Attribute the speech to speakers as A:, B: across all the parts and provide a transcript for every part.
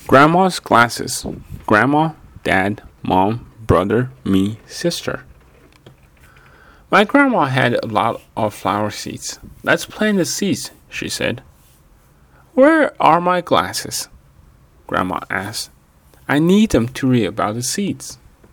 A: Grandma's glasses. Grandma, Dad, Mom, brother, me, sister. My grandma had a lot of flower seeds. Let's plant the seeds, she said. Where are my glasses? Grandma asked. I need them to read about the seeds.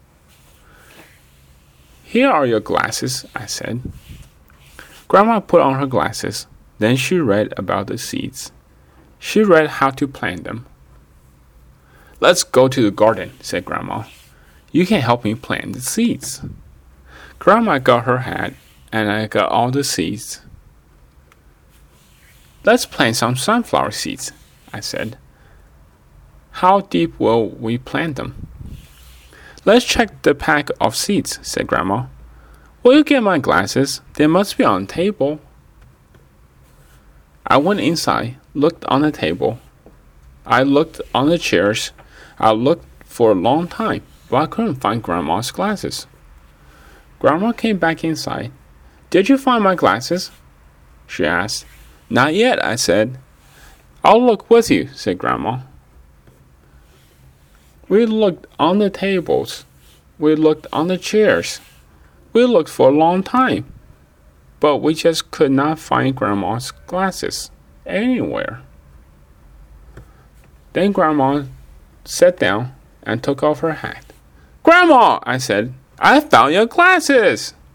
A: Here are your glasses, I said. Grandma put on her glasses. Then she read about the seeds. She read how to plant them. Let's go to the garden, said Grandma. You can help me plant the seeds. Grandma got her hat, and I got all the seeds. Let's plant some sunflower seeds, I said. How deep will we plant them? Let's check the pack of seeds, said Grandma. Will you get my glasses? They must be on the table. I went inside, looked on the table. I looked on the chairs. I looked for a long time, but I couldn't find Grandma's glasses. Grandma came back inside. Did you find my glasses? She asked. Not yet, I said. I'll look with you, said Grandma. We looked on the tables. We looked on the chairs. We looked for a long time, but we just could not find Grandma's glasses anywhere. Then Grandma sat down and took off her hat. Grandma, I said, I found your glasses.